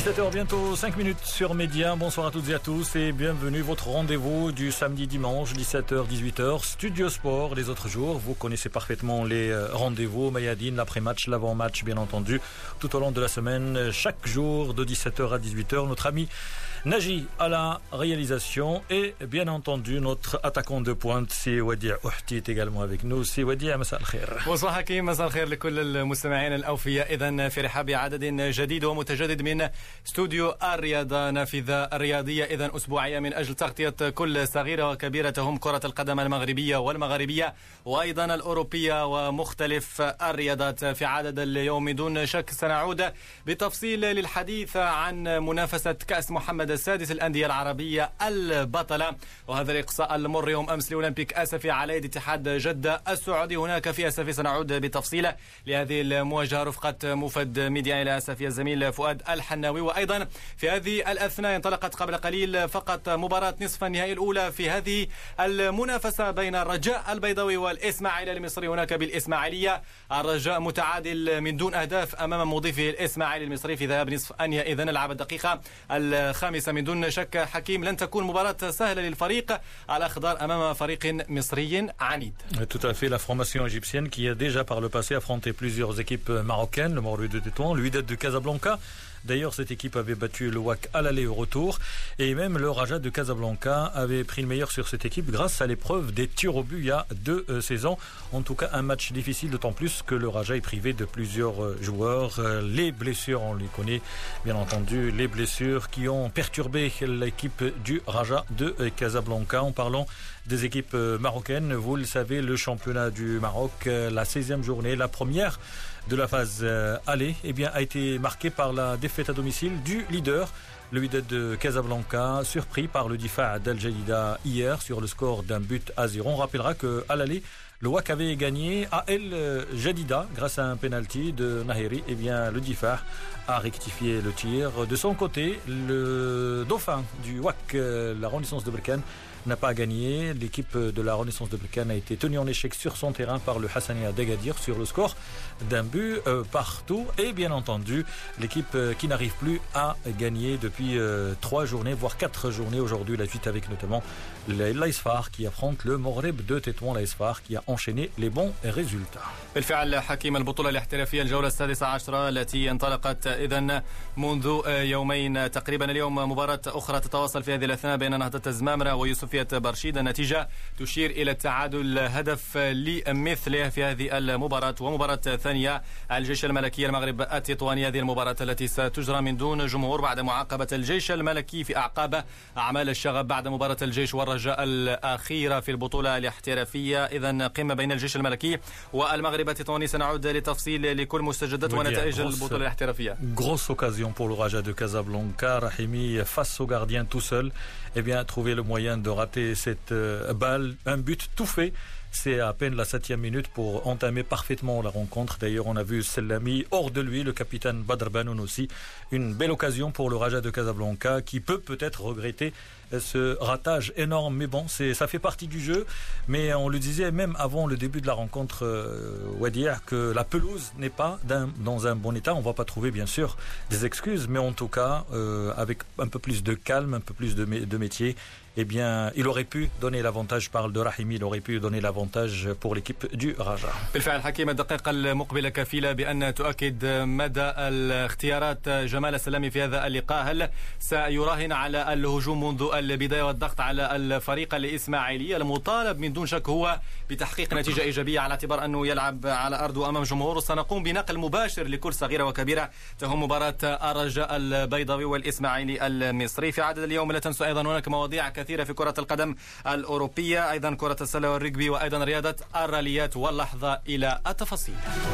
17h, bientôt 5 minutes sur Média. Bonsoir à toutes et à tous et bienvenue. Votre rendez-vous du samedi-dimanche, 17h, 18h, Studio Sport. Les autres jours, vous connaissez parfaitement les rendez-vous. Mayadine, l'après-match, l'avant-match, bien entendu, tout au long de la semaine, chaque jour de 17h à 18h. Notre ami Naji à la réalisation et bien entendu notre attaquant de pointe, c'est Wadia Ouhti, est également avec nous. C'est Wadia, مساء الخير. bonsoir حكيم, مساء الخير لكل المستمعين الأوفياء. إذن في رحاب عدد جديد ومتجدد من استوديو الرياضة نافذة الرياضية، إذن أسبوعية من أجل تغطية كل صغيرة وكبيرة تهم كرة القدم المغربية والمغاربية وأيضا الأوروبية ومختلف الرياضات. في عدد اليوم دون شك سنعود بتفصيل للحديث عن منافسة كأس محمد السادس الأندية العربية البطلة، وهذا الإقصاء المر يوم أمس لأولمبيك آسفي على يد اتحاد جدة السعودي. هناك في آسفي سنعود بتفصيل لهذه المواجهة رفقة مفد ميديا إلى آسفي الزميل فؤاد الحناوي. وأيضا في هذه الأثناء انطلقت قبل قليل فقط مباراة نصف النهائي الأولى في هذه المنافسة بين الرجاء البيضاوي والإسماعيلي المصري هناك بالإسماعيلية. الرجاء متعادل من دون أهداف أمام مضيفه الإسماعيلي المصري في ذهاب نصف النهائي. إذن لعب الدقيقة الخامسة من دون شك حكيم لن تكون مباراة سهلة للفريق الأخضر أمام فريق مصري عنيد. Tout à fait, la formation égyptienne qui a déjà par le passé affronté plusieurs équipes marocaines, le Morlu de Tétouan, le Wydad de Casablanca. D'ailleurs, cette équipe avait battu le WAC à l'aller et au retour. Et même le Raja de Casablanca avait pris le meilleur sur cette équipe grâce à l'épreuve des tirs au but il y a 2 saisons. En tout cas, un match difficile, d'autant plus que le Raja est privé de plusieurs joueurs. Les blessures, on les connaît, bien entendu, les blessures qui ont perturbé l'équipe du Raja de Casablanca. En parlant des équipes marocaines, vous le savez, le championnat du Maroc, la 16e journée, la première de la phase aller, eh bien, a été marquée par la défaite à domicile du leader, le Wydad de Casablanca, surpris par le Difa d'Al Jadida hier sur le score d'un but à 0. On rappellera qu'à l'aller, le WAC avait gagné à El Jadida grâce à un penalty de Nahiri. Eh bien, le Difa a rectifié le tir. De son côté, le dauphin du WAC, la Renaissance de Berkane, n'a pas gagné. L'équipe de la Renaissance de Berkane a été tenue en échec sur son terrain par le Hassania d'Agadir sur le score d'un but partout. Et bien entendu, l'équipe qui n'arrive plus à gagner depuis 3 journées, voire 4 journées aujourd'hui. La suite avec notamment l'Aisfar qui affronte le Moreb de Tétouan. L'Aisfar qui a enchaîné les bons résultats. بالفعل حكيم البطولة الاحترافية الجولة 16 التي انطلقت إذن منذ يومين تقريبا. اليوم مباراة أخرى تتواصل في هذه الأثناء بين نهضة الزمامرة ويوسفية برشيد. النتيجة تشير إلى التعادل هدف لمثله في هذه المباراة. ومباراة ثانية الجيش الملكي المغرب التطواني، هذه المباراة التي ستجرى من دون جمهور بعد معاقبة الجيش الملكي في أعقاب أعمال الشغب بعد مباراة الجيش والرجاء الأخيرة في البطولة الاحترافية. إذن قمة بين الجيش الملكي والمغرب التطواني. سنعود لتفصيل لكل مستجدات ونتائج البطولة الاحترافية. Grosse occasion pour le Raja de Casablanca. Rahimi face au gardien tout seul, eh bien, trouver le moyen de rater cette balle. Un but tout fait. C'est à peine la 7e minute pour entamer parfaitement la rencontre. D'ailleurs, on a vu Selami hors de lui, le capitaine Badr Banoun aussi. Une belle occasion pour le Raja de Casablanca qui peut-être regretter ce ratage énorme. Mais bon, ça fait partie du jeu. Mais on le disait même avant le début de la rencontre, Wadir, que la pelouse n'est pas dans un bon état. On va pas trouver bien sûr des excuses, mais en tout cas, avec un peu plus de calme, un peu plus de métier, eh bien, il aurait pu donner l'avantage. Parle de Rahimi, il aurait pu donner l'avantage pour l'équipe du Raja. بالفعل حكيم الدقائق المقبلة كفيلة بأن تؤكد مدى الاختيارات جمال السلامي في هذا اللقاء. هل سيراهن على الهجوم منذ البداية والضغط على الفريق الإسماعيلي المطالب من دون شك هو بتحقيق نتيجة إيجابية على اعتبار أنه يلعب على أرضه أمام جمهور؟ سنقوم بنقل مباشر لكل صغيرة وكبيرة تهم مباراة الرجاء البيضاوي والإسماعيلي المصري. في عدد اليوم لا تنسوا أيضا هناك مواضيع كثيرة في كرة القدم الأوروبية، أيضا كرة السلة والرجبي، وأيضا رياضة الراليات، واللحظة إلى التفاصيل.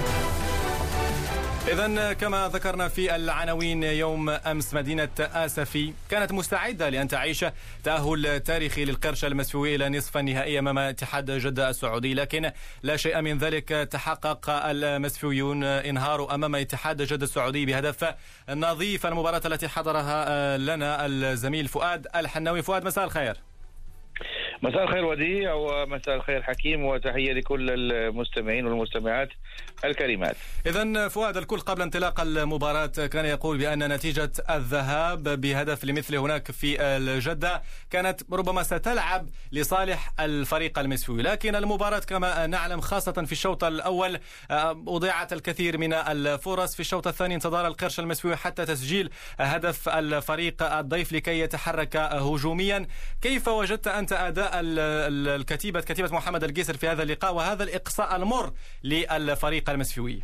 إذن كما ذكرنا في العناوين، يوم أمس مدينة آسفي كانت مستعدة لأن تعيش تأهل تاريخي للقرش المسفوي إلى نصف النهائي أمام اتحاد جدة السعودي، لكن لا شيء من ذلك تحقق. المسفويون انهاروا أمام اتحاد جدة السعودي بهدف نظيف. المباراة التي حضرها لنا الزميل فؤاد الحناوي. فؤاد، مساء الخير. مساء الخير وديع، ومساء الخير حكيم، وتحية لكل المستمعين والمستمعات. الكلمات. إذن فؤاد، الكل قبل انطلاق المباراة كان يقول بأن نتيجة الذهاب بهدف لمثل هناك في الجدة كانت ربما ستلعب لصالح الفريق المسفوي، لكن المباراة كما نعلم خاصة في الشوط الأول أضيعت الكثير من الفرص. في الشوط الثاني انتظر القرش المسفوي حتى تسجيل هدف الفريق الضيف لكي يتحرك هجوميا. كيف وجدت أنت أداء كتيبة محمد القيسر في هذا اللقاء وهذا الإقصاء المر للفريق المسفوي؟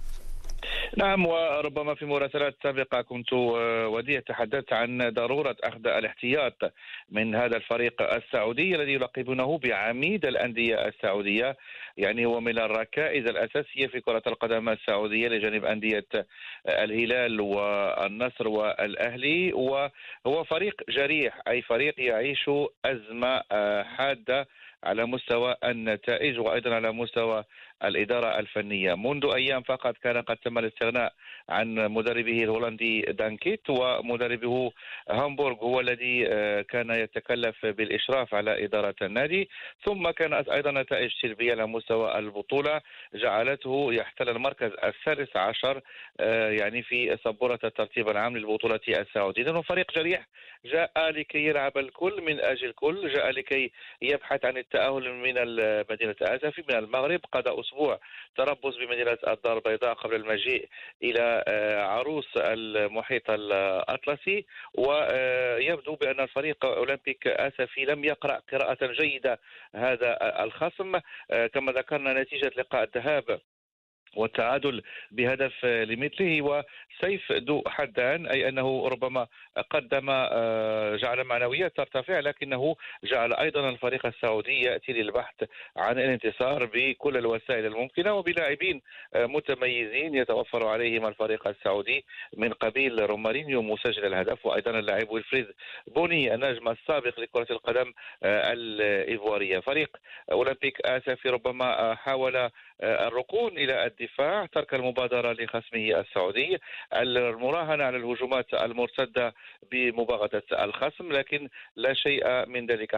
نعم، وربما في مراسلات سابقة كنت ودي تحدثت عن ضرورة أخذ الاحتياط من هذا الفريق السعودي الذي يلقبونه بعميد الأندية السعودية. يعني هو من الركائز الأساسية في كرة القدم السعودية لجانب أندية الهلال والنصر والأهلي، وهو فريق جريح، أي فريق يعيش أزمة حادة على مستوى النتائج وأيضا على مستوى الإدارة الفنية. منذ أيام فقط كان قد تم الاستغناء عن مدربه الهولندي دانكيت، ومدربه هامبورغ هو الذي كان يتكلف بالإشراف على إدارة النادي. ثم كانت أيضا نتائج سلبية على مستوى البطولة جعلته يحتل المركز السادس عشر يعني في سبورة الترتيب العام للبطولة السعودية. لأنه فريق جريح جاء لكي يلعب الكل من أجل الكل، جاء لكي يبحث عن التأهل من مدينة آسفي من المغرب، قضى أسبوع تربص بمدينة الدار البيضاء قبل المجيء إلى عروس المحيط الأطلسي. ويبدو بأن الفريق أولمبيك آسفي لم يقرأ قراءة جيدة هذا الخصم. كما ذكرنا نتيجة لقاء الذهاب والتعادل بهدف لمثله وسيف ذو حدان، أي أنه ربما قدم جعل معنويات ترتفع، لكنه جعل أيضا الفريق السعودي يأتي للبحث عن الانتصار بكل الوسائل الممكنة وبلاعبين متميزين يتوفر عليهم الفريق السعودي من قبيل رومارينيو مسجل الهدف، وأيضا اللاعب ويلفريد بوني النجم السابق لكرة القدم الإيفوارية. فريق أولمبيك آسفي ربما حاول الركون إلى الدفاع، ترك المبادرة لخصمه السعودي، المراهنة على الهجومات المرتدة بمباغتة الخصم، لكن لا شيء من ذلك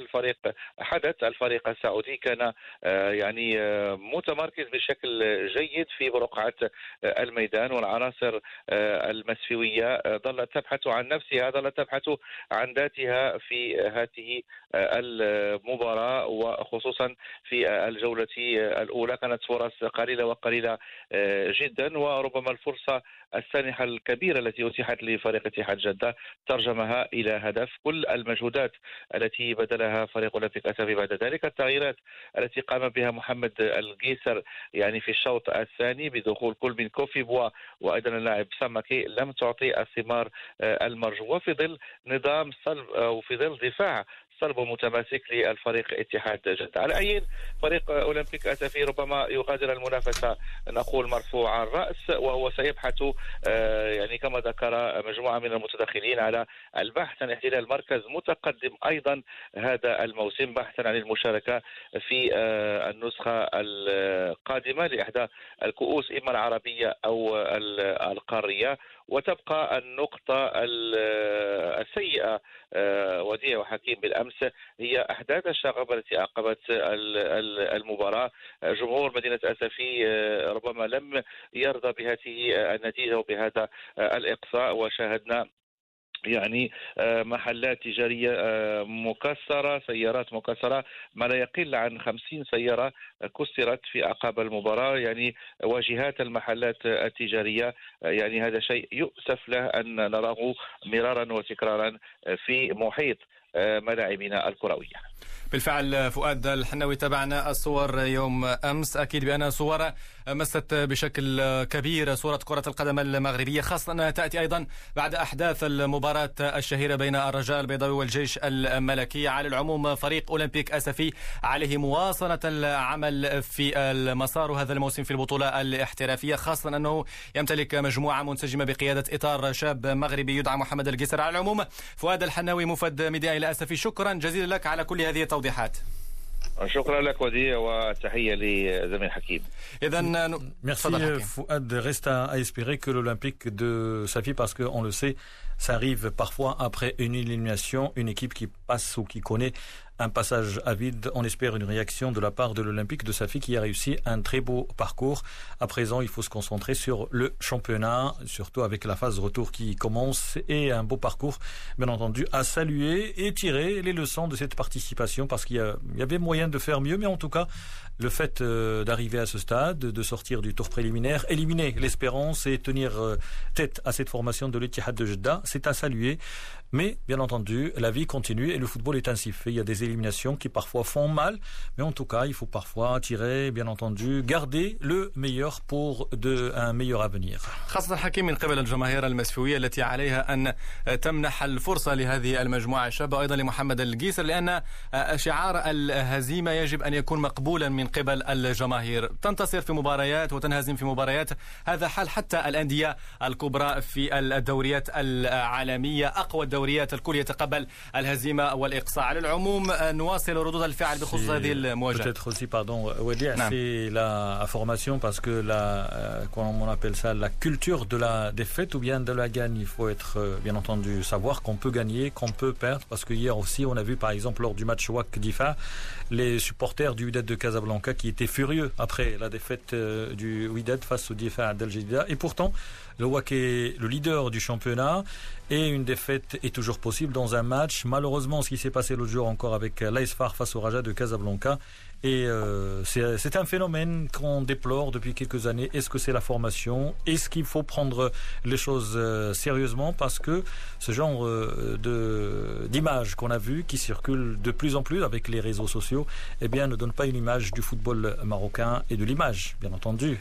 حدث. الفريق السعودي كان يعني متمركز بشكل جيد في برقعة الميدان، والعناصر المسفيوية ظلت تبحث عن نفسها، ظلت تبحث عن ذاتها في هذه المباراة، وخصوصا في الجولة الأولى كانت فرص قليلة وقليلة جدا، وربما الفرصة السانحة الكبيرة التي أتيحت لفريق اتحاد جدة ترجمها إلى هدف. كل المجهودات التي بذلها فريق أولمبيك آسفي بعد ذلك، التغييرات التي قام بها محمد القيسر يعني في الشوط الثاني بدخول كل من كوفي بوا وأيضا اللاعب سمكي، لم تعطي الثمار المرجوة في ظل نظام صلب وفي ظل دفاع صلب متماسك للفريق اتحاد جدة. على أي فريق أولمبيك آسفي ربما يغادر المنافسة نقول مرفوع الرأس، وهو سيبحث يعني كما ذكر مجموعة من المتدخلين على البحث عن احتلال مركز متقدم أيضا هذا الموسم، بحثا عن المشاركة في النسخة القادمة لإحدى الكؤوس إما العربية أو القارية. وتبقى النقطة السيئة وديع وحكيم بالأمس هي أحداث الشغب التي أعقبت المباراة. جمهور مدينة آسفي ربما لم يرضى بهذه النتيجة وبهذا الإقصاء، وشاهدنا يعني محلات تجارية مكسرة، سيارات مكسرة، ما لا يقل عن 50 سيارة كسرت في أعقاب المباراة، يعني واجهات المحلات التجارية. يعني هذا شيء يؤسف له أن نراه مرارا وتكرارا في محيط ملاعبنا الكروية. بالفعل فؤاد الحناوي، تابعنا الصور يوم أمس، أكيد بأن صور مست بشكل كبير صورة كرة القدم المغربية، خاصة أنها تأتي أيضا بعد أحداث المباراة الشهيرة بين الرجاء البيضاوي والجيش الملكي. على العموم فريق أولمبيك آسفي عليه مواصلة العمل في المسار هذا الموسم في البطولة الاحترافية، خاصة أنه يمتلك مجموعة منسجمة بقيادة إطار شاب مغربي يدعى محمد القيسر. على العموم فؤاد الحناوي مفد ميديا إلى آسفي، شكرا جزيلا لك على كل هذه التوضيحات. شكرا لك وديع وتحية لزميل حكيم. Merci Fouad. Reste à espérer que l'Olympique de Safi, parce qu'on le sait, ça arrive parfois après une élimination, une équipe qui passe ou qui connaît un passage à vide. On espère une réaction de la part de l'Olympique de Safi qui a réussi un très beau parcours. À présent, il faut se concentrer sur le championnat, surtout avec la phase retour qui commence et un beau parcours, bien entendu, à saluer et tirer les leçons de cette participation parce qu'il y avait moyen de faire mieux, mais en tout cas, le fait d'arriver à ce stade, de sortir du tour préliminaire, éliminer l'Espérance et tenir tête à cette formation de l'Ittihad de Jeddah, c'est à saluer. Mais, bien entendu, la vie continue et le football est ainsi fait. Il y a des éliminations qui parfois font mal, mais en tout cas, il faut parfois tirer, bien entendu, garder le meilleur pour un meilleur avenir. خاصة حكيم من قبل الجماهير المسفوية التي عليها أن تمنح الفرصة لهذه المجموعة الشابة وأيضا لمحمد القيسر لأن شعار الهزيمة يجب أن يكون مقبولا من قبل الجماهير. تنتصر في مباريات وتنهزم في مباريات، هذا حال حتى الأندية الكبرى في الدوريات العالمية. أقوى الدوريات الكل يتقبل الهزيمة والإقصاء. على العموم نواصل ردود الفعل بخصوص هذه المواجهة. Peut-être aussi, pardon, Wadir, c'est la formation parce que comment on appelle ça, la culture de la défaite ou bien de la gagne. Il faut être, bien entendu, savoir qu'on peut gagner, qu'on peut perdre parce que hier aussi, on a vu par exemple lors du match WAC Difa, les supporters du Wydad de Casablanca qui étaient furieux après la défaite du Wydad face au Difa d'Al Jadida. Et pourtant, le WAC est le leader du championnat et une défaite est toujours possible dans un match. Malheureusement, ce qui s'est passé l'autre jour encore avec l'Aisfar face au Raja de Casablanca. Et c'est un phénomène qu'on déplore depuis quelques années. Est-ce que c'est la formation? Est-ce qu'il faut prendre les choses sérieusement? Parce que ce genre d'images qu'on a vues, qui circulent de plus en plus avec les réseaux sociaux, eh bien, ne donne pas une image du football marocain et de l'image, bien entendu,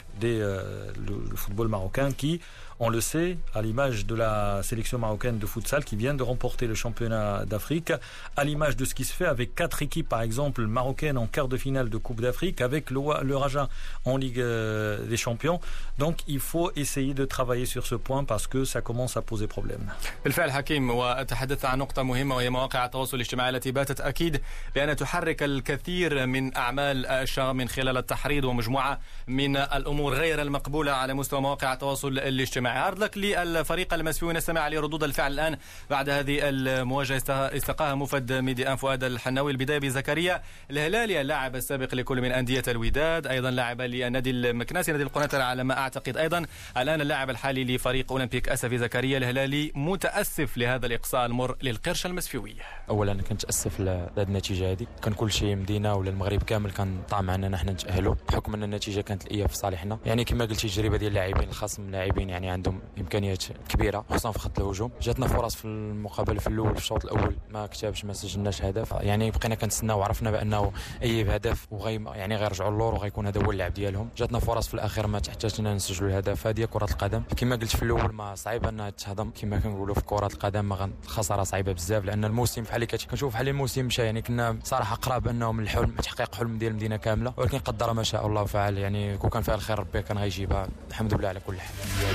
le football marocain qui, on le sait, à l'image de la sélection marocaine de futsal qui vient de remporter le championnat d'Afrique, à l'image de ce qui se fait avec 4 équipes, par exemple, marocaines en quart de finale de Coupe d'Afrique, avec le Raja en Ligue des Champions. Donc, il faut essayer de travailler sur ce point parce que ça commence à poser problème. بالفعل حكيم، وتحدث عن نقطة مهمة وهي مواقع التواصل الاجتماعي التي باتت أكيد بأن تحرك الكثير من أعمال الشغب من خلال التحريض ومجموعة من الأمور غير المقبولة على مستوى مواقع التواصل الاجتماعي. عرض لك للفريق المسفيوي، نستمع لردود الفعل الآن بعد هذه المواجهة استقاها مفد ميدي فؤاد الحناوي. البداية بزكريا الهلالي اللاعب السابق لكل من أندية الوداد، أيضا لاعب للنادي المكناسي نادي القنيطرة على ما أعتقد، أيضا الآن اللاعب الحالي لفريق أولمبيك أسفي. زكريا الهلالي متأسف لهذا الإقصاء المر للقرش المسفيوي. أولا كنت أسف لهذه النتيجة هذه، كان كل شيء مدينة ولا المغرب كامل كان طعم عنا نحن نتأهلوا بحكم أن النتيجة كانت الإياب في صالحنا. يعني كما قلت التجربة ديال اللاعبين الخصم، لاعبين يعني عندهم إمكانيات كبيرة خصوصا في خط الهجوم. جاتنا فرص في المقابلة في الأول، في الشوط الأول ما كتبش، ما سجلناش هدف، يعني بقينا كنتسناو وعرفنا بأنه أي هدف يعني غيرجعوا اللور وغيكون هذا هو اللعب ديالهم. جاتنا فرص في الأخير ما تحتاجنا نسجلوا الهدف. هذه كرة القدم كما قلت في الأول، ما صعيب أنها تهضم كما كنقولوا في كرة القدم. الخسارة صعيبة بزاف لأن الموسم بحال اللي كنشوف بحال الموسم مشى، يعني كنا صراحة قراب أنه من الحلم تحقيق حلم ديال المدينة كاملة، ولكن قدر ما شاء الله فعل. يعني كون كان فيها الخير ربي كان غيجيبها، الحمد لله على كل حال.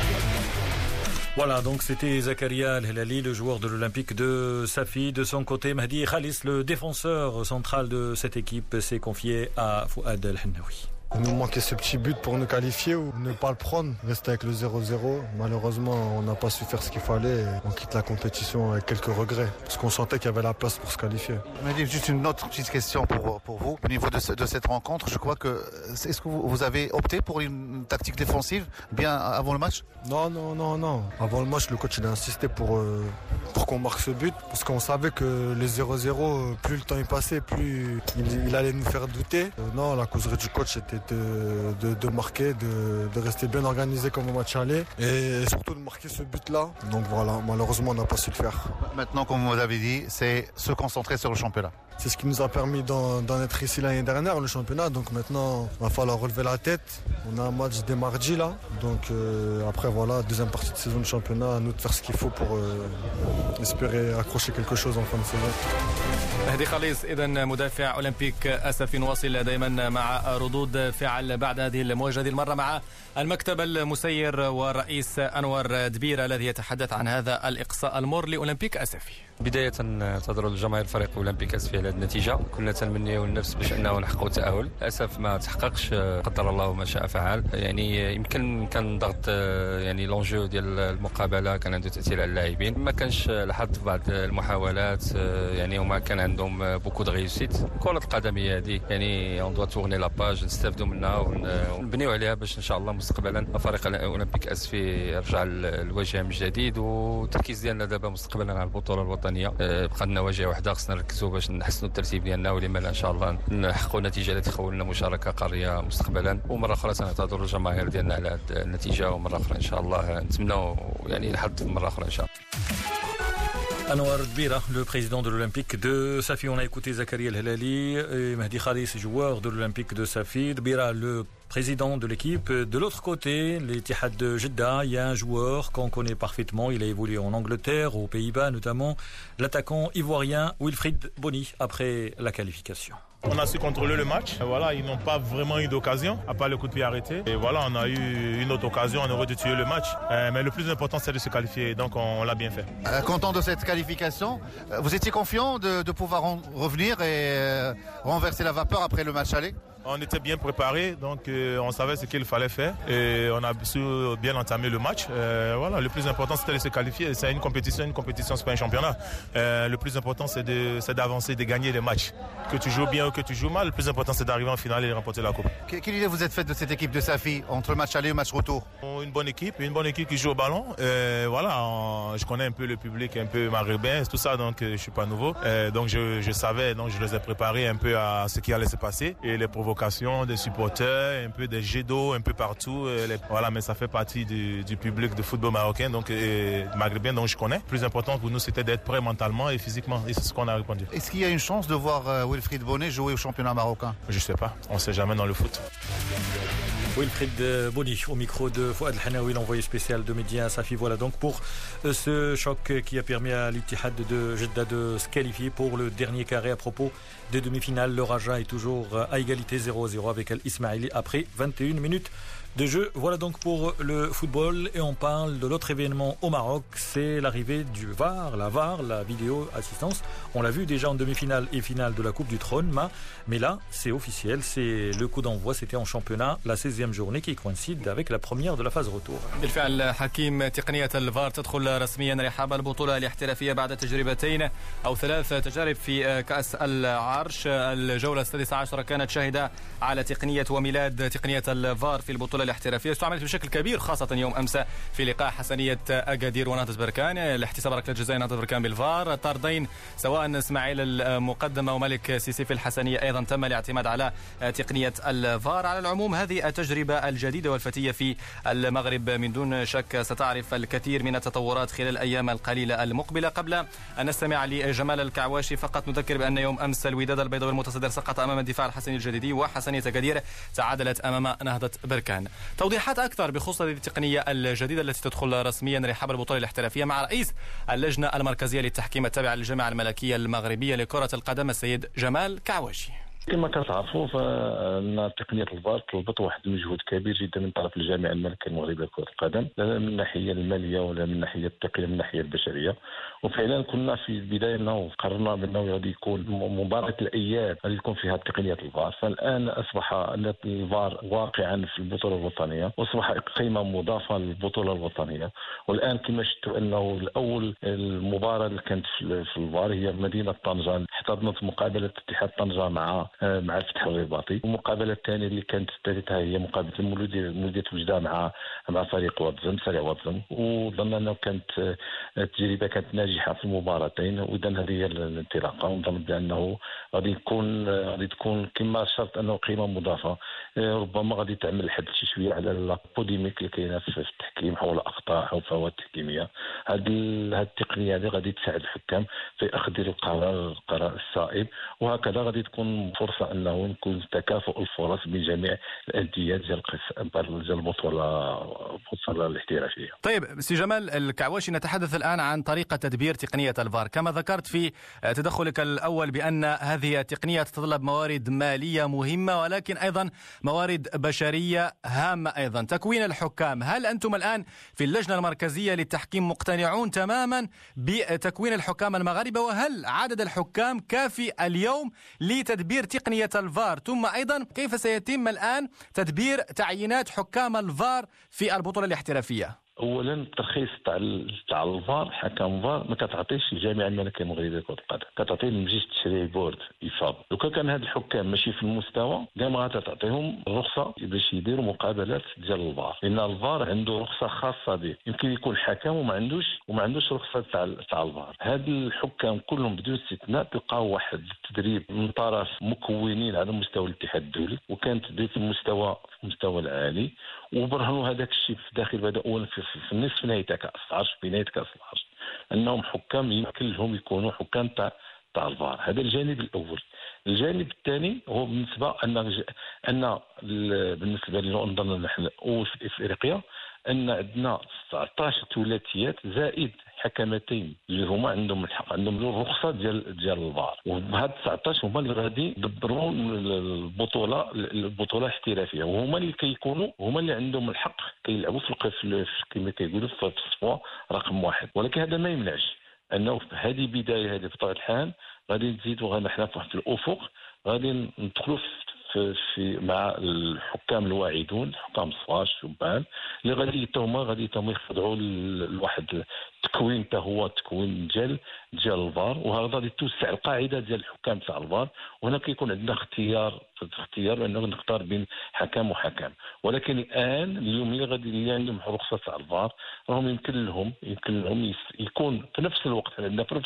Voilà, donc c'était Zakaria El-Helali, le joueur de l'Olympique de Safi. De son côté, Mahdi Khalis, le défenseur central de cette équipe, s'est confié à Fouad El-Hennaoui. Il nous manquait ce petit but pour nous qualifier ou ne pas le prendre, rester avec le 0-0. Malheureusement, on n'a pas su faire ce qu'il fallait. On quitte la compétition avec quelques regrets parce qu'on sentait qu'il y avait la place pour se qualifier. Juste une autre petite question pour vous. Au niveau de cette rencontre, je crois que... Est-ce que vous avez opté pour une tactique défensive bien avant le match? Non. Avant le match, le coach il a insisté pour qu'on marque ce but parce qu'on savait que les 0-0, plus le temps est passé, plus il allait nous faire douter. Non, la causerie du coach était de marquer, de rester bien organisé comme au match aller et surtout de marquer ce but-là. Donc voilà, malheureusement on n'a pas su le faire. Maintenant, comme vous avez dit, c'est se concentrer sur le championnat. C'est ce qui nous a permis d'en être ici l'année dernière, le championnat. Donc maintenant, il va falloir relever la tête. On a un match dès mardi là. Donc après voilà, deuxième partie de saison de championnat, à nous de faire ce qu'il faut pour espérer accrocher quelque chose en fin de saison. مهدي خليص إذا مدافع أولمبيك أسفي. نواصل دائما مع ردود فعل بعد هذه المواجهة، هذه المرة مع المكتب المسير والرئيس أنور دبيرة الذي يتحدث عن هذا الإقصاء المر لأولمبيك أسفي. بداية تضرب الجماهير فريق أولمبيك أسفي على هذه النتيجه. كنا تنمنيو النفس باش انه نحققوا التاهل، للاسف ما تحققش، قدر الله ما شاء فعل. يعني يمكن كان ضغط، يعني لونجو ديال المقابله كان عنده تاثير على اللاعبين، ما كانش الحظ في بعض المحاولات، يعني هما كان عندهم بوكو دو ريوسيت. كره القدم هي هذه، يعني اون دو تورني لا باج، نستافدوا منها ونبنيو عليها باش ان شاء الله مستقبلا فريق الاولمبيك اسفي يرجع الواجهه من جديد. والتركيز ديالنا دابا مستقبلا على البطوله الوطنيه، بقى لنا واجهه واحده خصنا نركزوا باش نحسنوا الترتيب ديالنا، ولما لا ان شاء الله نحققوا نتيجه التي تخول لنا مشاركه قاريه مستقبلا. ومره اخرى سنعتذر الجماهير ديالنا على هذه النتيجه، ومره اخرى ان شاء الله نتمنوا يعني الحظ مره اخرى ان شاء الله. Anouar Dbira, le président de l'Olympique de Safi. On a écouté Zakaria El-Helali et Mehdi Khalis, joueur de l'Olympique de Safi. Dbira, le président de l'équipe. De l'autre côté, l'Ittihad de Jeddah, il y a un joueur qu'on connaît parfaitement. Il a évolué en Angleterre, aux Pays-Bas notamment. L'attaquant ivoirien Wilfried Bony, après la qualification. On a su contrôler le match. Voilà, ils n'ont pas vraiment eu d'occasion, à part le coup de pied arrêté. Et voilà, on a eu une autre occasion, on aurait dû tuer le match. Mais le plus important, c'est de se qualifier. Donc, on l'a bien fait. Content de cette qualification. Vous étiez confiant de pouvoir revenir et renverser la vapeur après le match aller? On était bien préparé, donc on savait ce qu'il fallait faire et on a su bien entamer le match. Voilà, le plus important c'était de se qualifier. C'est une compétition c'est pas un championnat. Le plus important c'est d'avancer, de gagner les matchs. Que tu joues bien ou que tu joues mal, le plus important c'est d'arriver en finale et remporter la coupe. Quelle idée vous êtes faite de cette équipe de Safi entre le match aller et le match retour? Une bonne équipe qui joue au ballon. Voilà, je connais un peu le public, un peu maghrébin, tout ça, donc je suis pas nouveau. Donc je savais, donc je les ai préparés un peu à ce qui allait se passer et les des supporters, un peu des jets d'eau un peu partout. Voilà, mais ça fait partie du public de football marocain, donc maghrébin, donc je connais. Le plus important pour nous, c'était d'être prêt mentalement et physiquement, et c'est ce qu'on a répondu. Est-ce qu'il y a une chance de voir Wilfried Bony jouer au championnat marocain? Je sais pas, on sait jamais dans le foot. Wilfried Bony au micro de Fouad El-Hanaoui, l'envoyé spécial de Média Safi. Voilà donc pour ce choc qui a permis à l'Ittihad de Jeddah de se qualifier pour le dernier carré. À propos des demi-finales, le Raja est toujours à égalité 0-0 avec Al-Ismaili après 21 minutes de jeu. Voilà donc pour le football, et on parle de l'autre événement au Maroc, c'est l'arrivée du VAR, la vidéo assistance. On l'a vu déjà en demi-finale et finale de la Coupe du Trône, mais là c'est officiel, c'est le coup d'envoi, c'était en championnat, la 16e journée qui coïncide avec la première de la phase retour. بالفعل حكيم تقنية الفار تدخل رسميا رحاب البطولة الاحترافية بعد تجربتين أو 3 تجارب في كأس العرش. الجولة السادسة عشرة كانت شاهدة على تقنية وميلاد تقنية الفار في البطولة الاحترافية، استعملت بشكل كبير خاصة يوم أمس في لقاء حسنية أكادير ونهضة بركان، الاحتساب ركلة جزاء نهضة بركان بالفار، طردين سواء اسماعيل المقدمة وملك سيسي في الحسنية أيضا تم الاعتماد على تقنية الفار. على العموم هذه التجربة الجديدة والفتية في المغرب من دون شك ستعرف الكثير من التطورات خلال الأيام القليلة المقبلة. قبل أن نستمع لجمال الكعواشي فقط نذكر بأن يوم أمس الوداد البيضاوي المتصدر سقط أمام الدفاع الحسني الجديدي، وحسنية أكادير تعادلت أمام نهضة بركان. توضيحات أكثر بخصوص هذه التقنية الجديدة التي تدخل رسميا رحاب البطولة الاحترافية مع رئيس اللجنة المركزية للتحكيم التابعة للجامعة الملكية المغربية لكرة القدم السيد جمال كعواشي. كما كتعرفوا فان تقنيه الفار طلبت واحد المجهود كبير جدا من طرف الجامعه الملكيه المغربيه لكره القدم، لا من الناحيه الماليه ولا من الناحيه التقنيه، من الناحيه البشريه. وفعلا كنا في البدايه انه قررنا بانه غادي يكون مباراه الاياب غادي تكون فيها تقنيه الفار. فالان اصبح ان الفار واقعا في البطوله الوطنيه واصبح قيمه مضافه للبطوله الوطنيه. والان كما شفتوا انه الاول المباراه اللي كانت في الفار هي مدينه طنجه، احتضنت مقابله اتحاد طنجه مع الفتح الرباطي، والمقابله الثانيه اللي كانت الثالثه هي مقابله مولوديه وجده مع فريق واتزم سريع واتزم. وظن انه كانت التجربه كانت ناجحه في المباراتين، واذا هذه هي الانطلاقه. ونظن بانه غادي تكون كما شرط انه قيمه مضافه. ربما غادي تعمل حد شي شويه على البوليميك اللي كاينه في التحكيم حول اخطاء او فوات تحكيميه. هذه التقنيه هذه غادي تساعد الحكام في اخذ القرار الصائب، وهكذا غادي تكون فرصه انه نكون تكافؤ الفرص بين جميع الانديه ديال البطوله الاحترافيه. طيب سي جمال الكعواشي، نتحدث الان عن طريقه تدبير تقنيه الفار. كما ذكرت في تدخلك الاول بان هذه التقنيه تتطلب موارد ماليه مهمه، ولكن ايضا موارد بشريه هامه ايضا. تكوين الحكام، هل انتم الان في اللجنه المركزيه للتحكيم مقتنعون تماما بتكوين الحكام المغاربه؟ وهل عدد الحكام كافي اليوم لتدبير تقنيه الفار؟ ثم ايضا كيف سيتم الان تدبير تعيينات حكام الفار في البطوله الاحترافيه؟ اولا الترخيص تاع الفار، حكم فار ما كتعطيش الجامعه الملكيه المغربيه لكره القدم، كتعطيه المجلس التشريعي بورد يفاض. لو كان هاد الحكام ماشي في المستوى كاع ما غتعطيهم الرخصه باش يديروا مقابلات ديال الفار، لان الفار عنده رخصه خاصه به. يمكن يكون حكم وما عندوش رخصه تاع الفار. هاد الحكام كلهم بدون استثناء تلقاو واحد التدريب من طرف مكونين على مستوى الاتحاد الدولي، وكان تدريب في المستوى العالي، وبرهنوا هذاك الشيء في داخل بدا اولا في النصف نهائي تاع كاس العرش، في نهايه كاس العرش، انهم حكام يمكن لهم يكونوا حكام تاع الفار. هذا الجانب الاول. الجانب الثاني هو بالنسبه بالنسبه لنا نحن في افريقيا ان عندنا 19 ثلاثيات زائد حكمتين اللي هما عندهم الحق، عندهم الرخصه ديال الفار، وهاد 19 هما اللي غادي يدبروا البطوله الاحترافيه، وهما اللي هما اللي عندهم الحق كيلعبوا في كما كيقولوا في الصفوه رقم 1. ولكن هذا ما يمنعش انه في هذه بدايه، هذه بطبيعه الحال غادي نزيدوا حنا في الافق، غادي ندخلوا في مع الحكام الواعدون، حكام الصغار الشبان اللي غادي يخضعوا لواحد التكوين حتى هو التكوين ديال الفار، وهذا غادي توسع القاعده ديال الحكام تاع الفار. وهنا كيكون عندنا اختيار بانه نختار بين حكم وحكم. ولكن الان اليوم اللي عندهم رخصه تاع الفار راهم يمكن لهم يكون في نفس الوقت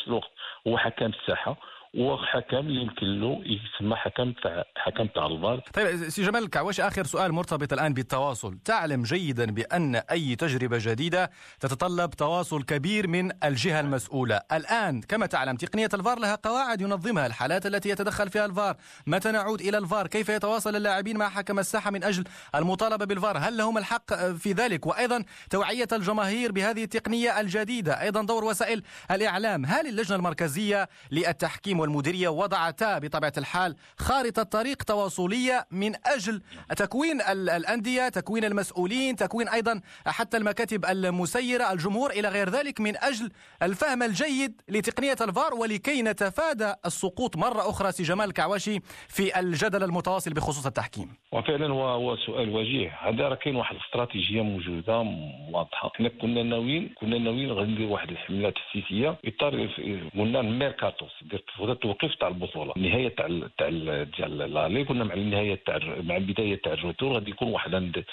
هو حكم الساحه، وحكم اللي يمكن له يسمى حكم تاع الفار. طيب سي جمال الكعواشي، اخر سؤال مرتبط الان بالتواصل. تعلم جيدا بان اي تجربه جديده تتطلب تواصل كبير من الجهه المسؤوله. الان كما تعلم تقنيه الفار لها قواعد ينظمها، الحالات التي يتدخل فيها الفار، متى نعود الى الفار، كيف يتواصل اللاعبين مع حكم الساحه من اجل المطالبه بالفار، هل لهم الحق في ذلك، وايضا توعيه الجماهير بهذه التقنيه الجديده، ايضا دور وسائل الاعلام. هل اللجنه المركزيه للتحكيم والمديريه وضعتا بطبيعه الحال خارطه طريق تواصليه من اجل تكوين الانديه، تكوين المسؤولين، تكوين ايضا حتى المكاتب المسيره، الجمهور الى غير ذلك، من اجل الفهم الجيد لتقنيه الفار ولكي نتفادى السقوط مره اخرى سي جمال الكعواشي في الجدل المتواصل بخصوص التحكيم؟ وفعلا هو سؤال وجيه. هذا راه كاين واحد الاستراتيجيه موجوده واضحه. حنا كنا ناويين غادي ندير واحد الحمله تاسيسيه اطار قلنا الميركاتو، التوقيف تاع البطوله، النهايه ديال اللي كنا مع النهايه مع البدايه تاع الروتور غادي يكون واحد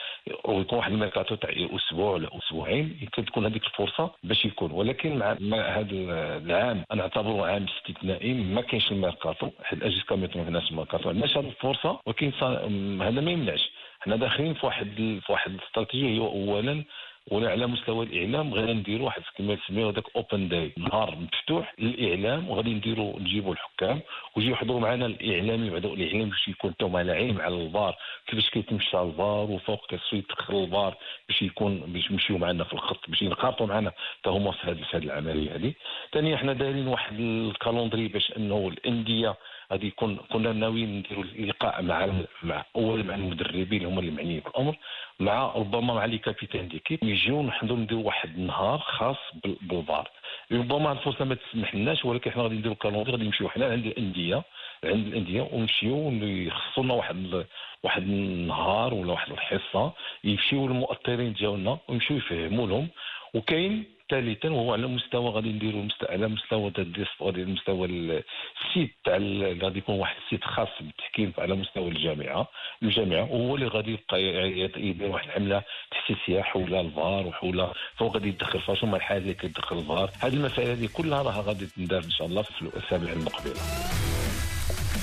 الميركاتو تاع اسبوع ولا اسبوعين، يمكن تكون هذيك الفرصه باش يكون. ولكن مع هذا العام انا اعتبره عام استثنائي، ما كاينش الميركاتو، حيت الاجهزه كامله ما عندناش الميركاتو، عندناش هذه الفرصه. ولكن هذا ما يمنعش حنا داخلين في واحد الاستراتيجيه. هو اولا ولا على مستوى الاعلام غادي نديروا واحد كما يسميوه هذاك اوبن داي، نهار مفتوح للاعلام، وغادي نجيبوا الحكام ويجيو يحضروا معنا الاعلامي، بعد الاعلام باش يكون حتى هما لاعبين على الفار، كيفاش كيتمشى الفار، وفوق كيفاش يدخل الفار باش يمشيو معنا في الخط، باش ينخرطوا معنا حتى هما في هذه العمليه هذه. ثانيا حنا دايرين واحد الكالندري باش انه الانديه غادي كنا ناويين نديروا اللقاء مع المدربين اللي هما اللي معنيين بالامر، ربما مع لي كابيتان ديكيب، يجيو نحضروا نديروا واحد النهار خاص بالفار. ربما الفرصه ما تسمحلناش، ولكن حنا غادي نديروا كالندري، غادي نمشيو حنا عند الانديه ونمشيو يخصونا واحد النهار ولا واحد الحصه، يمشيو المؤطرين ديالنا ويمشيو يفهموا لهم. وكاين ثالثا وهو على مستوى غادي نديروا على مستوى المستوى السيت تاع غادي يكون واحد السيت خاص بالتحكيم على مستوى الجامعه وهو اللي غادي يبقى يدير واحد الحمله تحسيسيه حول الفار وحول فوق غادي يدخل فاش هما الحاجه اللي كتدخل الفار. هذه المسائل هذه كلها راها غادي تندار ان شاء الله في الاسابيع المقبله.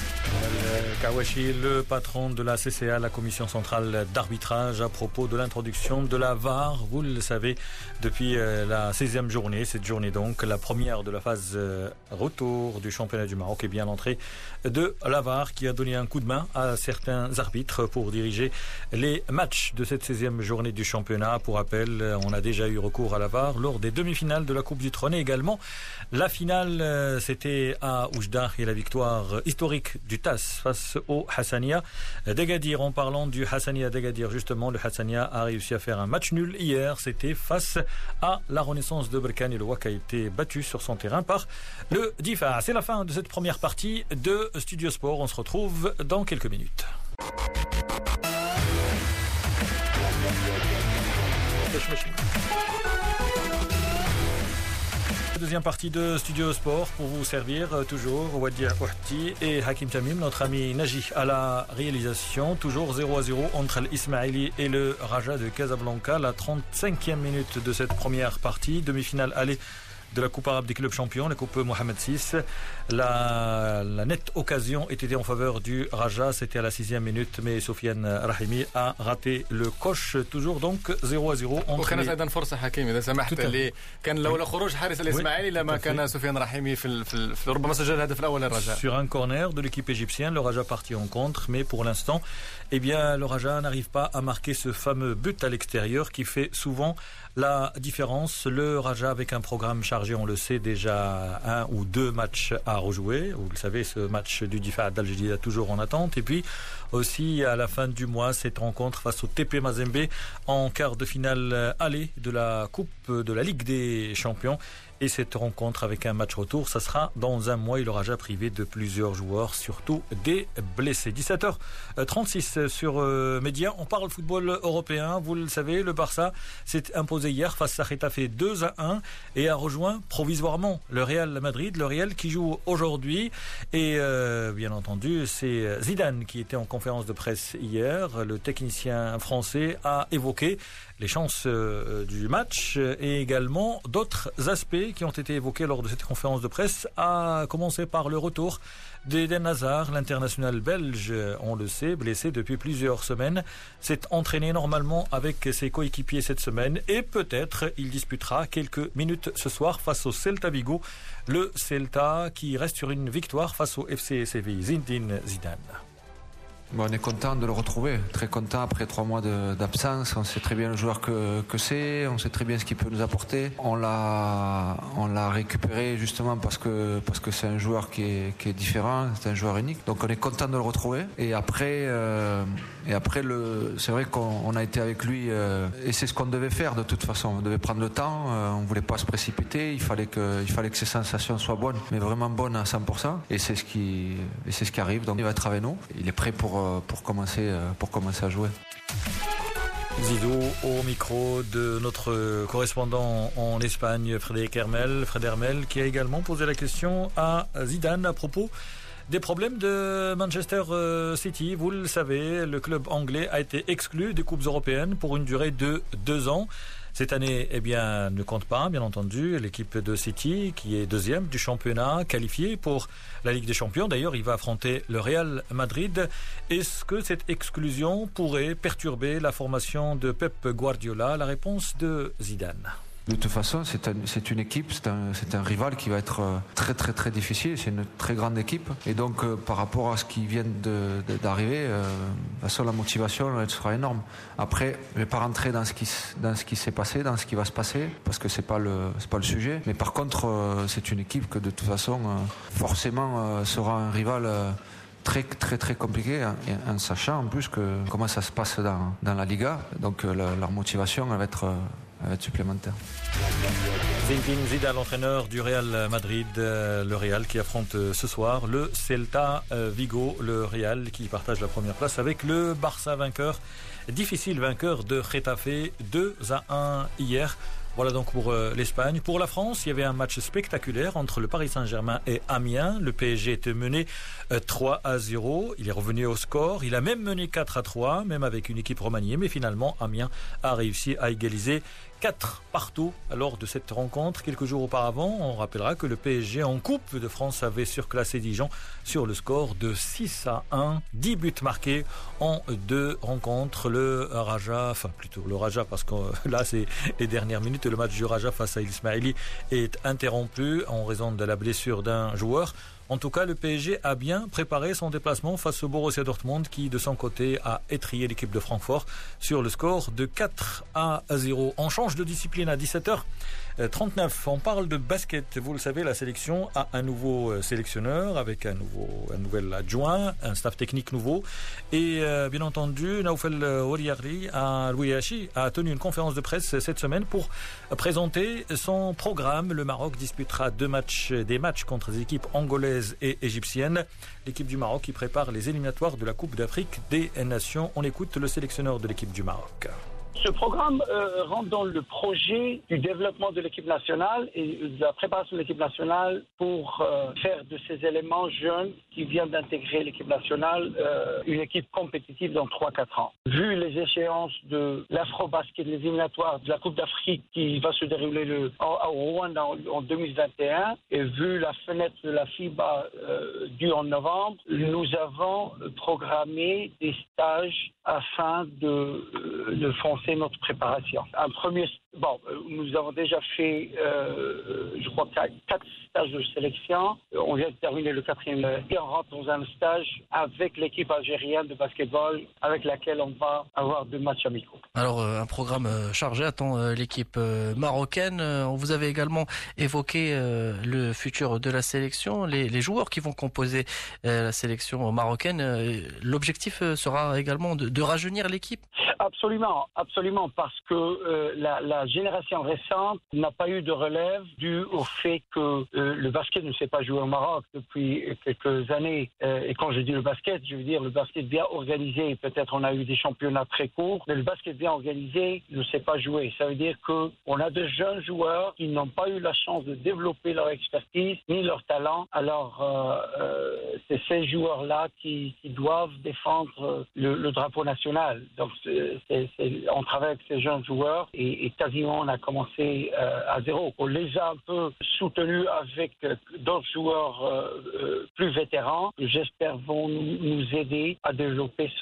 Kawashi, le patron de la CCA, la Commission centrale d'arbitrage, à propos de l'introduction de la VAR. Vous le savez, depuis la 16e journée, cette journée donc, la première de la phase retour du championnat du Maroc, et bien l'entrée de la VAR qui a donné un coup de main à certains arbitres pour diriger les matchs de cette 16e journée du championnat. Pour rappel, on a déjà eu recours à la VAR lors des demi-finales de la Coupe du Trône et également la finale, c'était à Oujda et la victoire historique du TAS face au Hassania d'Agadir. En parlant du Hassania d'Agadir, justement, le Hassania a réussi à faire un match nul hier. C'était face à la Renaissance de Berkane et le WAC a été battu sur son terrain par le Difa. C'est la fin de cette première partie de Studio Sport. On se retrouve dans quelques minutes. Deuxième partie de Studio Sport pour vous servir toujours Wadia Ouhti et Hakim Tamim, notre ami Naji à la réalisation. Toujours 0-0 entre l'Ismaili et le Raja de Casablanca. La 35e minute de cette première partie, demi-finale aller de la Coupe arabe des clubs champions, la Coupe Mohamed VI. La nette occasion était en faveur du Raja, c'était à la 6e minute, mais Sofiane Rahimi a raté le coche. toujours donc 0-0 entre وكانت ايضا فرصه حكيم اذا سمحت اللي كان لولا خروج حارس الاسماعيلي لما كان سفيان رحيمي في ربما سجل الهدف الاول للرجاء. Sur un corner de l'équipe égyptienne, le Raja parti en contre, mais pour l'instant, eh bien, le Raja n'arrive pas à marquer ce fameux but à l'extérieur qui fait souvent la différence. Le Raja avec un programme chargé, on le sait, déjà 1 ou 2 matchs à rejouer. Vous le savez, ce match du Difa d'Al-Jadida toujours en attente. Et puis aussi à la fin du mois, cette rencontre face au TP Mazembe en quart de finale aller de la Coupe de la Ligue des Champions. Et cette rencontre avec un match retour, ça sera dans un mois. Il aura déjà privé de plusieurs joueurs, surtout des blessés. 17h36 sur Média. On parle football européen. Vous le savez, le Barça s'est imposé hier face à Getafe 2-1 et a rejoint provisoirement le Real Madrid. Le Real qui joue aujourd'hui. Et bien entendu, c'est Zidane qui était en conférence de presse hier. Le technicien français a évoqué les chances du match et également d'autres aspects qui ont été évoqués lors de cette conférence de presse, à commencer par le retour d'Eden Hazard, l'international belge, on le sait, blessé depuis plusieurs semaines, s'est entraîné normalement avec ses coéquipiers cette semaine et peut-être il disputera quelques minutes ce soir face au Celta Vigo, le Celta qui reste sur une victoire face au FC Séville. Zinedine Zidane. Bon, on est content de le retrouver, très content après 3 mois d'absence. On sait très bien le joueur que c'est, on sait très bien ce qu'il peut nous apporter. On l'a récupéré justement parce que c'est un joueur qui est différent, c'est un joueur unique. Donc on est content de le retrouver. Et après c'est vrai qu'on a été avec lui et c'est ce qu'on devait faire de toute façon. On devait prendre le temps, on voulait pas se précipiter. Il fallait que ses sensations soient bonnes, mais vraiment bonnes à 100%. Et c'est ce qui arrive. Donc il va être avec nous. Il est prêt pour commencer à jouer. Zidou au micro de notre correspondant en Espagne, Frédéric Hermel, qui a également posé la question à Zidane à propos des problèmes de Manchester City. Vous le savez, le club anglais a été exclu des coupes européennes pour une durée de 2 ans. Cette année, ne compte pas, bien entendu, l'équipe de City, qui est 2e du championnat, qualifiée pour la Ligue des Champions. D'ailleurs, il va affronter le Real Madrid. Est-ce que cette exclusion pourrait perturber la formation de Pep Guardiola? La réponse de Zidane. De toute façon, c'est une équipe, c'est un rival qui va être très très très difficile. C'est une très grande équipe et donc par rapport à ce qui vient d'arriver, la motivation elle sera énorme. Après, je vais pas rentrer dans ce qui s'est passé, dans ce qui va se passer, parce que c'est pas le sujet. Mais par contre, c'est une équipe que de toute façon, forcément, sera un rival. Très très très compliqué en sachant en plus comment ça se passe dans la Liga. Donc leur motivation elle va être supplémentaire. Zinedine Zidane, l'entraîneur du Real Madrid, le Real qui affronte ce soir le Celta Vigo, le Real qui partage la première place avec le Barça difficile vainqueur de Getafe 2-1 hier. Voilà donc pour l'Espagne. Pour la France, il y avait un match spectaculaire entre le Paris Saint-Germain et Amiens. Le PSG était mené 3-0. Il est revenu au score. Il a même mené 4-3, même avec une équipe remaniée. Mais finalement, Amiens a réussi à égaliser 4-partout lors de cette rencontre. Quelques jours auparavant, on rappellera que le PSG en Coupe de France avait surclassé Dijon sur le score de 6-1. 10 buts marqués en 2 rencontres. Le Raja parce que là c'est les dernières minutes. Le match du Raja face à Ismaili est interrompu en raison de la blessure d'un joueur. En tout cas, le PSG a bien préparé son déplacement face au Borussia Dortmund qui, de son côté, a étrillé l'équipe de Francfort sur le score de 4-0. On change de discipline à 17h39. On parle de basket. Vous le savez, la sélection a un nouveau sélectionneur avec un nouvel adjoint, un staff technique nouveau. Et bien entendu, Naoufel Oriari à Louiachi a tenu une conférence de presse cette semaine pour présenter son programme. Le Maroc disputera des matchs contre des équipes angolaises et égyptienne. L'équipe du Maroc qui prépare les éliminatoires de la Coupe d'Afrique des Nations. On écoute le sélectionneur de l'équipe du Maroc. Ce programme rentre dans le projet du développement de l'équipe nationale et de la préparation de l'équipe nationale pour faire de ces éléments jeunes qui viennent d'intégrer l'équipe nationale une équipe compétitive dans 3-4 ans. Vu les échéances de l'Afro-Basket, les éliminatoires de la Coupe d'Afrique qui va se dérouler à Rwanda en 2021 et vu la fenêtre de la FIBA due en novembre, nous avons programmé des stages afin de foncer notre préparation. Nous avons déjà fait, je crois, 4 stages de sélection. On vient de terminer le 4e et on rentre dans un stage avec l'équipe algérienne de basketball avec laquelle on va avoir 2 matchs amicaux. Alors, un programme chargé attend l'équipe marocaine. Vous avez également évoqué le futur de la sélection, les joueurs qui vont composer la sélection marocaine. L'objectif sera également de rajeunir l'équipe. Absolument, parce que la génération récente n'a pas eu de relève dû au fait que le basket ne s'est pas joué au Maroc depuis quelques années. Et quand je dis le basket, je veux dire le basket bien organisé. Peut-être on a eu des championnats très courts, mais le basket bien organisé ne s'est pas joué. Ça veut dire qu'on a de jeunes joueurs qui n'ont pas eu la chance de développer leur expertise ni leur talent. Alors, c'est ces joueurs-là qui doivent défendre le drapeau national. Donc, on travaille avec ces jeunes joueurs et quasiment on a commencé à zéro. On les a un peu soutenus avec d'autres joueurs plus vétérans qui, j'espère, vont nous aider à développer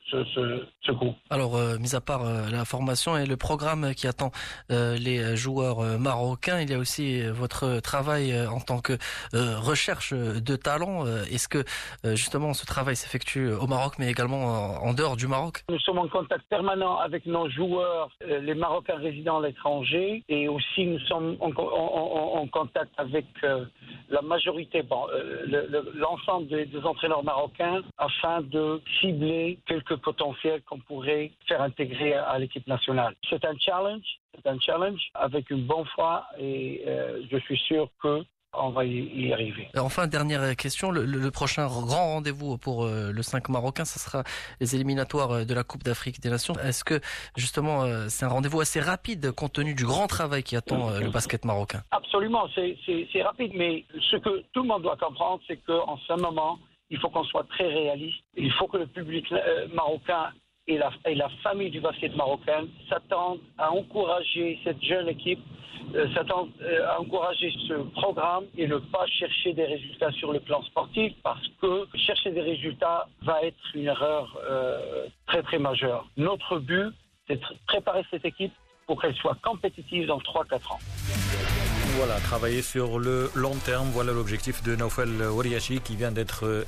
ce groupe. Alors, mis à part la formation et le programme qui attend les joueurs marocains, il y a aussi votre travail en tant que recherche de talent. Est-ce que justement ce travail s'effectue au Maroc mais également en dehors du Maroc? Nous sommes en contact permanent avec nos joueurs, les Marocains résidant à l'étranger, et aussi nous sommes en contact avec la majorité, l'ensemble des entraîneurs marocains afin de cibler quelques potentiels qu'on pourrait faire intégrer à l'équipe nationale. C'est un challenge avec une bonne foi et je suis sûr que on va y arriver. Enfin, dernière question, le prochain grand rendez-vous pour le 5 marocain, ce sera les éliminatoires de la Coupe d'Afrique des Nations. Est-ce que justement c'est un rendez-vous assez rapide compte tenu du grand travail qui attend le basket marocain? Absolument, c'est rapide, mais ce que tout le monde doit comprendre, c'est qu'en ce moment, il faut qu'on soit très réaliste. Il faut que le public marocain et la famille du basket marocain s'attendent à encourager cette jeune équipe, s'attendent à encourager ce programme et ne pas chercher des résultats sur le plan sportif, parce que chercher des résultats va être une erreur très très majeure. Notre but, c'est de préparer cette équipe pour qu'elle soit compétitive dans 3-4 ans. Voilà, travailler sur le long terme, voilà l'objectif de Naoufel Oriachi qui vient d'être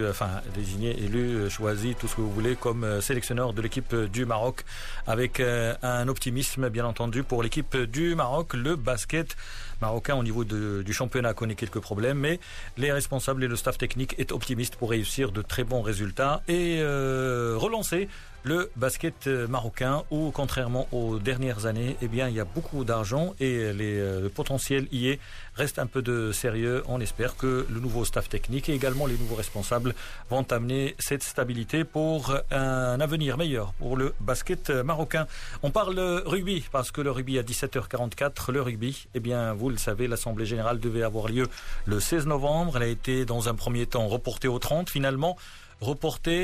élu, choisi, tout ce que vous voulez, comme sélectionneur de l'équipe du Maroc, avec un optimisme bien entendu pour l'équipe du Maroc. Le basket marocain au niveau du championnat connaît quelques problèmes, mais les responsables et le staff technique est optimiste pour réussir de très bons résultats et relancer le basket marocain où, contrairement aux dernières années, il y a beaucoup d'argent et le potentiel y est. Reste un peu de sérieux. On espère que le nouveau staff technique et également les nouveaux responsables vont amener cette stabilité pour un avenir meilleur pour le basket marocain. On parle rugby parce que le rugby à 17h44, le rugby, vous le savez, l'Assemblée Générale devait avoir lieu le 16 novembre. Elle a été dans un premier temps reportée au 30, finalement reportée.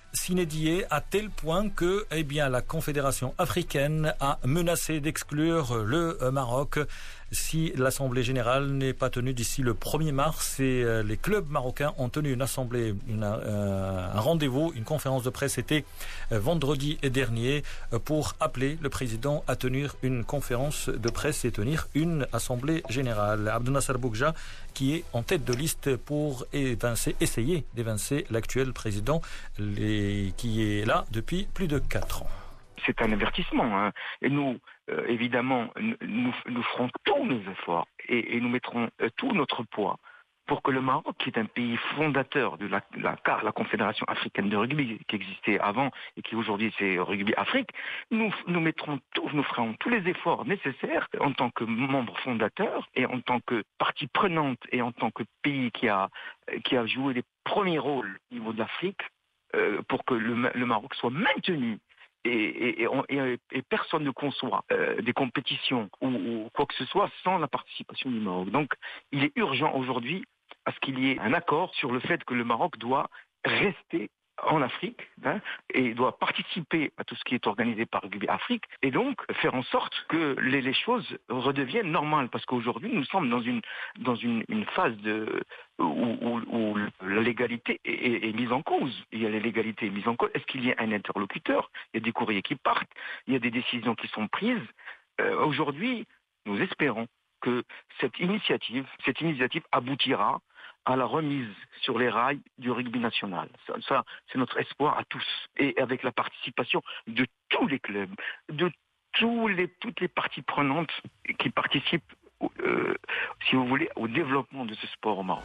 s'inédié à tel point que la Confédération africaine a menacé d'exclure le Maroc si l'Assemblée générale n'est pas tenue d'ici le 1er mars. Et les clubs marocains ont tenu une assemblée, un rendez-vous, une conférence de presse, c'était vendredi dernier, pour appeler le président à tenir une conférence de presse et tenir une assemblée générale. Abdel Nasser Boukja, qui est en tête de liste pour essayer d'évincer l'actuel président, qui est là depuis plus de 4 ans. C'est un avertissement. Et nous, évidemment, nous ferons tous nos efforts et nous mettrons tout notre poids pour que le Maroc, qui est un pays fondateur de la Confédération africaine de rugby, qui existait avant et qui aujourd'hui c'est Rugby Afrique, nous ferons tous les efforts nécessaires en tant que membre fondateur et en tant que partie prenante et en tant que pays qui a joué les premiers rôles au niveau de l'Afrique pour que le Maroc soit maintenu. Et personne ne conçoit des compétitions ou quoi que ce soit sans la participation du Maroc. Donc il est urgent aujourd'hui à ce qu'il y ait un accord sur le fait que le Maroc doit rester en Afrique et doit participer à tout ce qui est organisé par Rugby Afrique et donc faire en sorte que les choses redeviennent normales, parce qu'aujourd'hui nous sommes dans une phase où la légalité est mise en cause. Il y a la légalité mise en cause. Est-ce qu'il y a un interlocuteur? Il y a des courriers qui partent, il y a des décisions qui sont prises. Aujourd'hui, nous espérons que cette initiative aboutira à la remise sur les rails du rugby national. Ça, c'est notre espoir à tous. Et avec la participation de tous les clubs, de toutes les parties prenantes qui participent, si vous voulez, au développement de ce sport au Maroc.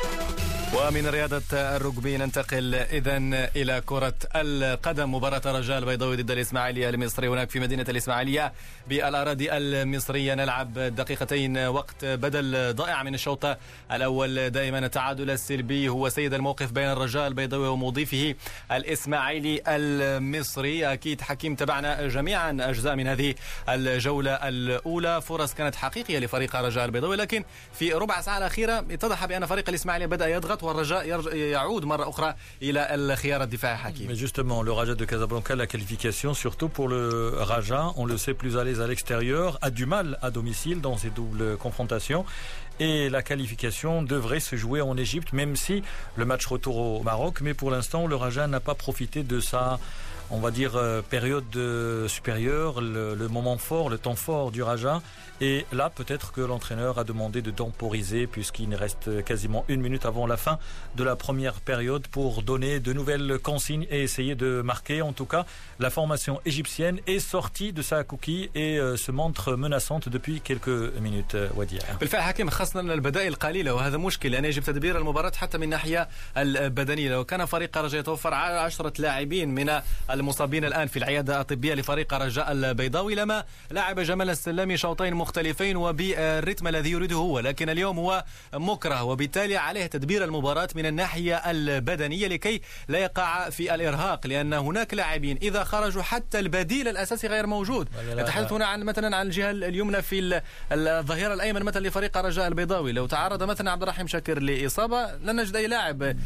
ومن رياضة الرugby ننتقل إذن إلى كرة القدم. مباراة الرجاء البيضاوي ضد الإسماعيلية المصري هناك في مدينة الإسماعيلية بالأراضي المصرية. نلعب دقيقتين وقت بدل ضائع من الشوط الأول. دائما التعادل السلبي هو سيد الموقف بين الرجاء البيضاوي ومضيفه الإسماعيلي المصري. أكيد حكيم تبعنا جميعا أجزاء من هذه الجولة الأولى. فرص كانت حقيقية لفريق الرجاء البيضاوي، لكن في ربع ساعة الأخيرة اتضح بأن فريق الإسماعيلية بدأ يضغط والرجاء يعود مرة أخرى إلى الخيار الدفاعي حكيم. Mais justement, le Raja de Casablanca, la qualification, surtout pour le Raja, on le sait, plus à l'aise à l'extérieur, a du mal à domicile dans ces doubles confrontations. Et la qualification devrait se jouer en Égypte, même si le match retour au Maroc. Mais pour l'instant, le Raja n'a pas profité de sa, on va dire, période supérieure, le moment fort, le temps fort du Raja. Et là, peut-être que l'entraîneur a demandé de temporiser, puisqu'il reste quasiment 1 minute avant la fin de la première période pour donner de nouvelles consignes et essayer de marquer. En tout cas, la formation égyptienne est sortie de sa coquille et se montre menaçante depuis quelques minutes. Wadia. بالفعل حكيم، خاصة البدائل قليلة وهذا مشكل، لأن يجب تدبير المباراة حتى من الناحية البدنية. لو كان فريق الرجاء يتوفر 10 لاعبين من المصابين الآن في العيادة الطبية لفريق الرجاء البيضاوي لما لاعب جمال السلامي شوطين مختلفين وبالرتم الذي يريده هو، لكن اليوم هو مكره وبالتالي عليه تدبير المباراة من الناحية البدنية لكي لا يقع في الإرهاق، لأن هناك لاعبين إذا خرجوا حتى البديل الأساسي غير موجود. نتحدث هنا عن مثلا عن الجهة اليمنى في الظهير الأيمن مثلا لفريق الرجاء البيضاوي. لو تعرض مثلا عبد الرحيم شاكر لإصابة لن نجد أي لاعب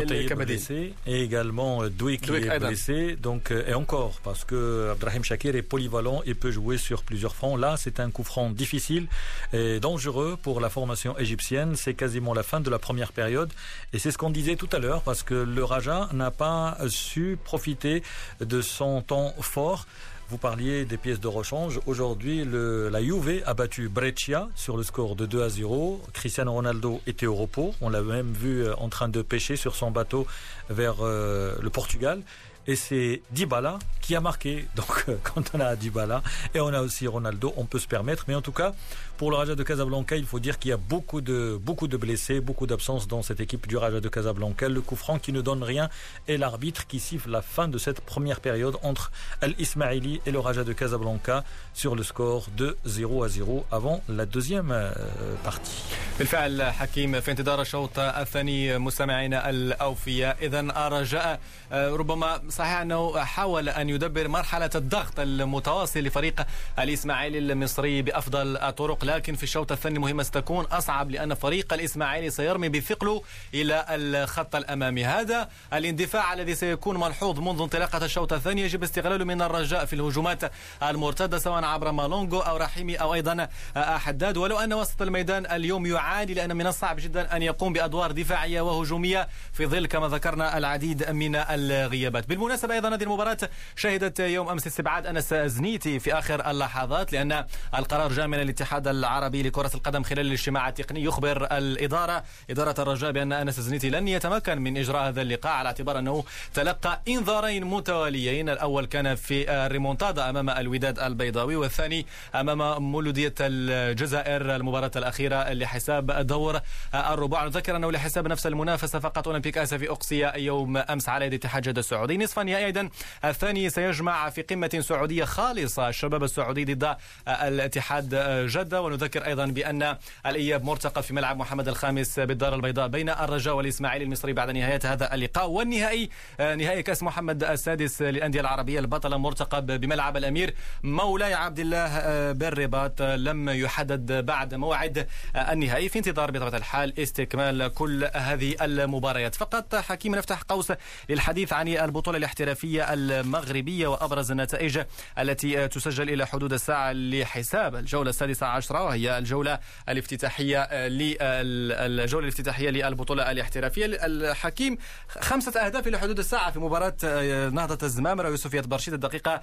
كبديل. Et également Douik qui est blessé, donc et encore parce que Abdelrahim Shakir est polyvalent et peut jouer sur plusieurs fronts. Là, c'est un coup franc difficile et dangereux pour la formation égyptienne. C'est quasiment la fin de la première période et c'est ce qu'on disait tout à l'heure, parce que le Raja n'a pas su profiter de son temps fort. Vous parliez des pièces de rechange. Aujourd'hui, la Juve a battu Brescia sur le score de 2-0. Cristiano Ronaldo était au repos. On l'a même vu en train de pêcher sur son bateau vers le Portugal. Et c'est Dybala qui a marqué. Donc quand on a Dybala et on a aussi Ronaldo, on peut se permettre. Mais en tout cas, pour le Raja de Casablanca, il faut dire qu'il y a beaucoup de blessés, beaucoup d'absences dans cette équipe du Raja de Casablanca. Le coup franc qui ne donne rien et l'arbitre qui siffle la fin de cette première période entre Al-Ismaili et le Raja de Casablanca sur le score de 0-0 avant la deuxième partie. بالفعل حكيم في انتظار الشوط الثاني مستمعينا الأوفياء. إذن الرجاء ربما صحيح أنه حاول أن يدبر مرحلة الضغط المتواصل لفريق الإسماعيلي المصري بأفضل الطرق، لكن في الشوط الثاني المهمة ستكون أصعب لأن فريق الإسماعيلي سيرمي بثقله إلى الخط الأمامي. هذا الاندفاع الذي سيكون ملحوظ منذ انطلاقة الشوط الثاني يجب استغلاله من الرجاء في الهجومات المرتدة سواء عبر مالونغو أو رحيمي أو أيضا حداد، ولو أن وسط الميدان اليوم يعاني لأن من الصعب جدا أن يقوم بأدوار دفاعية وهجومية في ظل كما ذكرنا العديد من الغيابات. بالمناسبة أيضا هذه المباراة شهدت يوم أمس استبعاد أنس زنيتي في آخر اللحظات لأن القرار جاء من الاتحاد العربي لكرة القدم خلال الاجتماع التقني يخبر إدارة الرجاء بأن أنس زنيتي لن يتمكن من إجراء هذا اللقاء على اعتبار أنه تلقى إنذارين متواليين، الأول كان في الريمونتادا أمام الوداد البيضاوي والثاني أمام مولودية الجزائر المباراة الأخيرة لحساب دور الرباع. نذكر أنه لحساب نفس المنافسة فقط أولمبيك آسيا أقصي يوم أمس على يد اتحاد جدة السعودي. نصف النهائي أيضا الثاني سيجمع في قمة سعودية خالصة الشباب السعودي ضد الاتحاد جدة، ونذكر أيضا بأن الإياب مرتقب في ملعب محمد الخامس بالدار البيضاء بين الرجاء والإسماعيلي المصري بعد نهاية هذا اللقاء. والنهائي نهائي كأس محمد السادس للأندية العربية البطلة مرتقب بملعب الأمير مولاي عبد الله بالرباط، لم يحدد بعد موعد النهائي في انتظار بطبيعة الحال استكمال كل هذه المباريات. فقط حكيم نفتح قوس للحديث عن البطولة الاحترافية المغربية وأبرز النتائج التي تسجل إلى حدود الساعة لحساب الجولة 16 وهي الجولة الافتتاحية للبطولة الاحترافية. الحكيم 5 أهداف إلى حدود الساعة في مباراة نهضة الزمامرة ويوسفية برشيد الدقيقة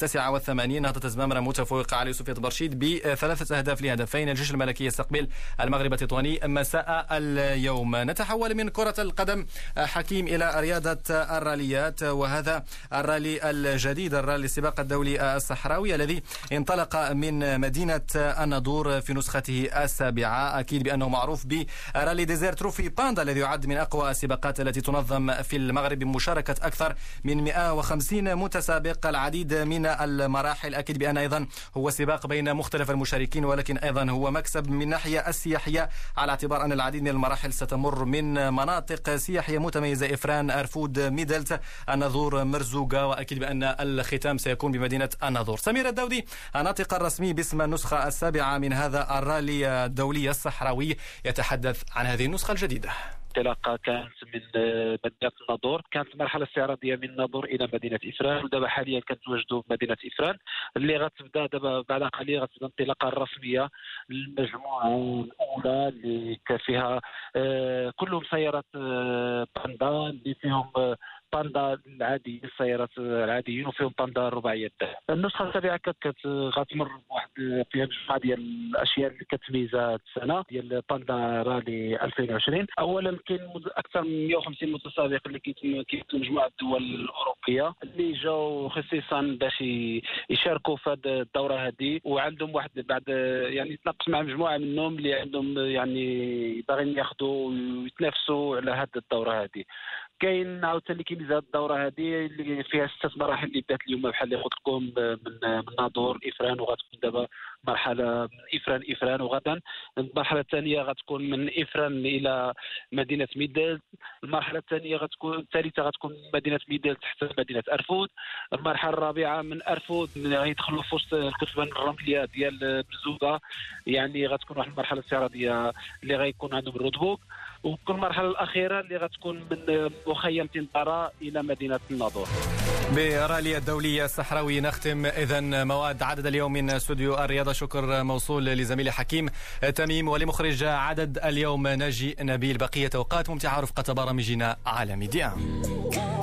89. نهضة الزمامرة متفوقة على يوسفية برشيد ب3 أهداف لهدفين. الجيش الملكي يستقبل المغرب التطواني مساء اليوم. نتحول من كرة القدم حكيم إلى رياضة الراليات، وهذا الرالي الجديد الرالي السباق الدولي الصحراوي الذي انطلق من مدينة الناظور في نسخته 7. أكيد بأنه معروف برالي ديزيرت تروفي باندا الذي يعد من أقوى السباقات التي تنظم في المغرب بمشاركة أكثر من 150 متسابق، العديد من المراحل. أكيد بأن أيضا هو سباق بين مختلف المشاركين، ولكن أيضا هو مكسب من ناحية السياحية على اعتبار أن العديد من المراحل ستمر من مناطق سياحية متميزة: إفران، أرفود، ميدلت، الناظور، مرزوقة، وأكيد بأن الختام سيكون بمدينة الناظور. سمير الدودي الناطق الرسمي باسم النسخة 7 من هذا الرالي الدولي الصحراوي يتحدث عن هذه النسخة الجديدة. الانطلاقه كانت من مدينه الناظور، كانت المرحله الاستعراضيه من الناظور الى مدينه افران، ودابا حاليا كنتواجدوا في مدينه افران اللي غتبدا دابا بعد قليل غتبدا الانطلاقه الرسميه للمجموعه الاولى اللي فيها كلهم سيارات باندا اللي فيهم باندا العادي، السيارات العاديين، وفيهم باندا رباعيه الدعم. النسخه السابعه غتمر بواحد فيها مجموعه ديال الاشياء اللي كتميزها هذه السنه ديال باندا رالي 2020. اولا كاين اكثر من 150 متسابق اللي كيتم مجموعه الدول الاوروبيه اللي جاوا خصيصا باش يشاركوا في هذه الدوره هذه، وعندهم واحد بعد يعني تناقش مع مجموعه منهم اللي عندهم يعني باغيين ياخذوا ويتنافسوا على هذه الدوره هذه. كاين عاوتاني كاين هذه الدوره هذه اللي فيها 6 مراحل اللي بدات اليوم بحال اللي قلت لكم من ناظور افران، وغتكون دابا مرحله من افران، وغدا المرحله الثانيه غتكون من افران الى مدينه ميدل. المرحله الثالثه غتكون من مدينه ميدل حتى مدينه ارفود. المرحله الرابعه من ارفود غيدخلوا في وسط الكتبان الرمليه ديال بزوقه، يعني غتكون واحد المرحله استعراضيه اللي غيكون عندهم الرودبوك. وكل المرحله الاخيره اللي غتكون من مخيم تنطره الى مدينه الناظور. برالية الدولية الصحراوي نختم إذن مواد عدد اليوم من استوديو الرياضة. شكر موصول لزميلي حكيم تميم ولمخرج عدد اليوم ناجي نبيل. بقية أوقات ممتعة رفقة برامجنا على ميديا.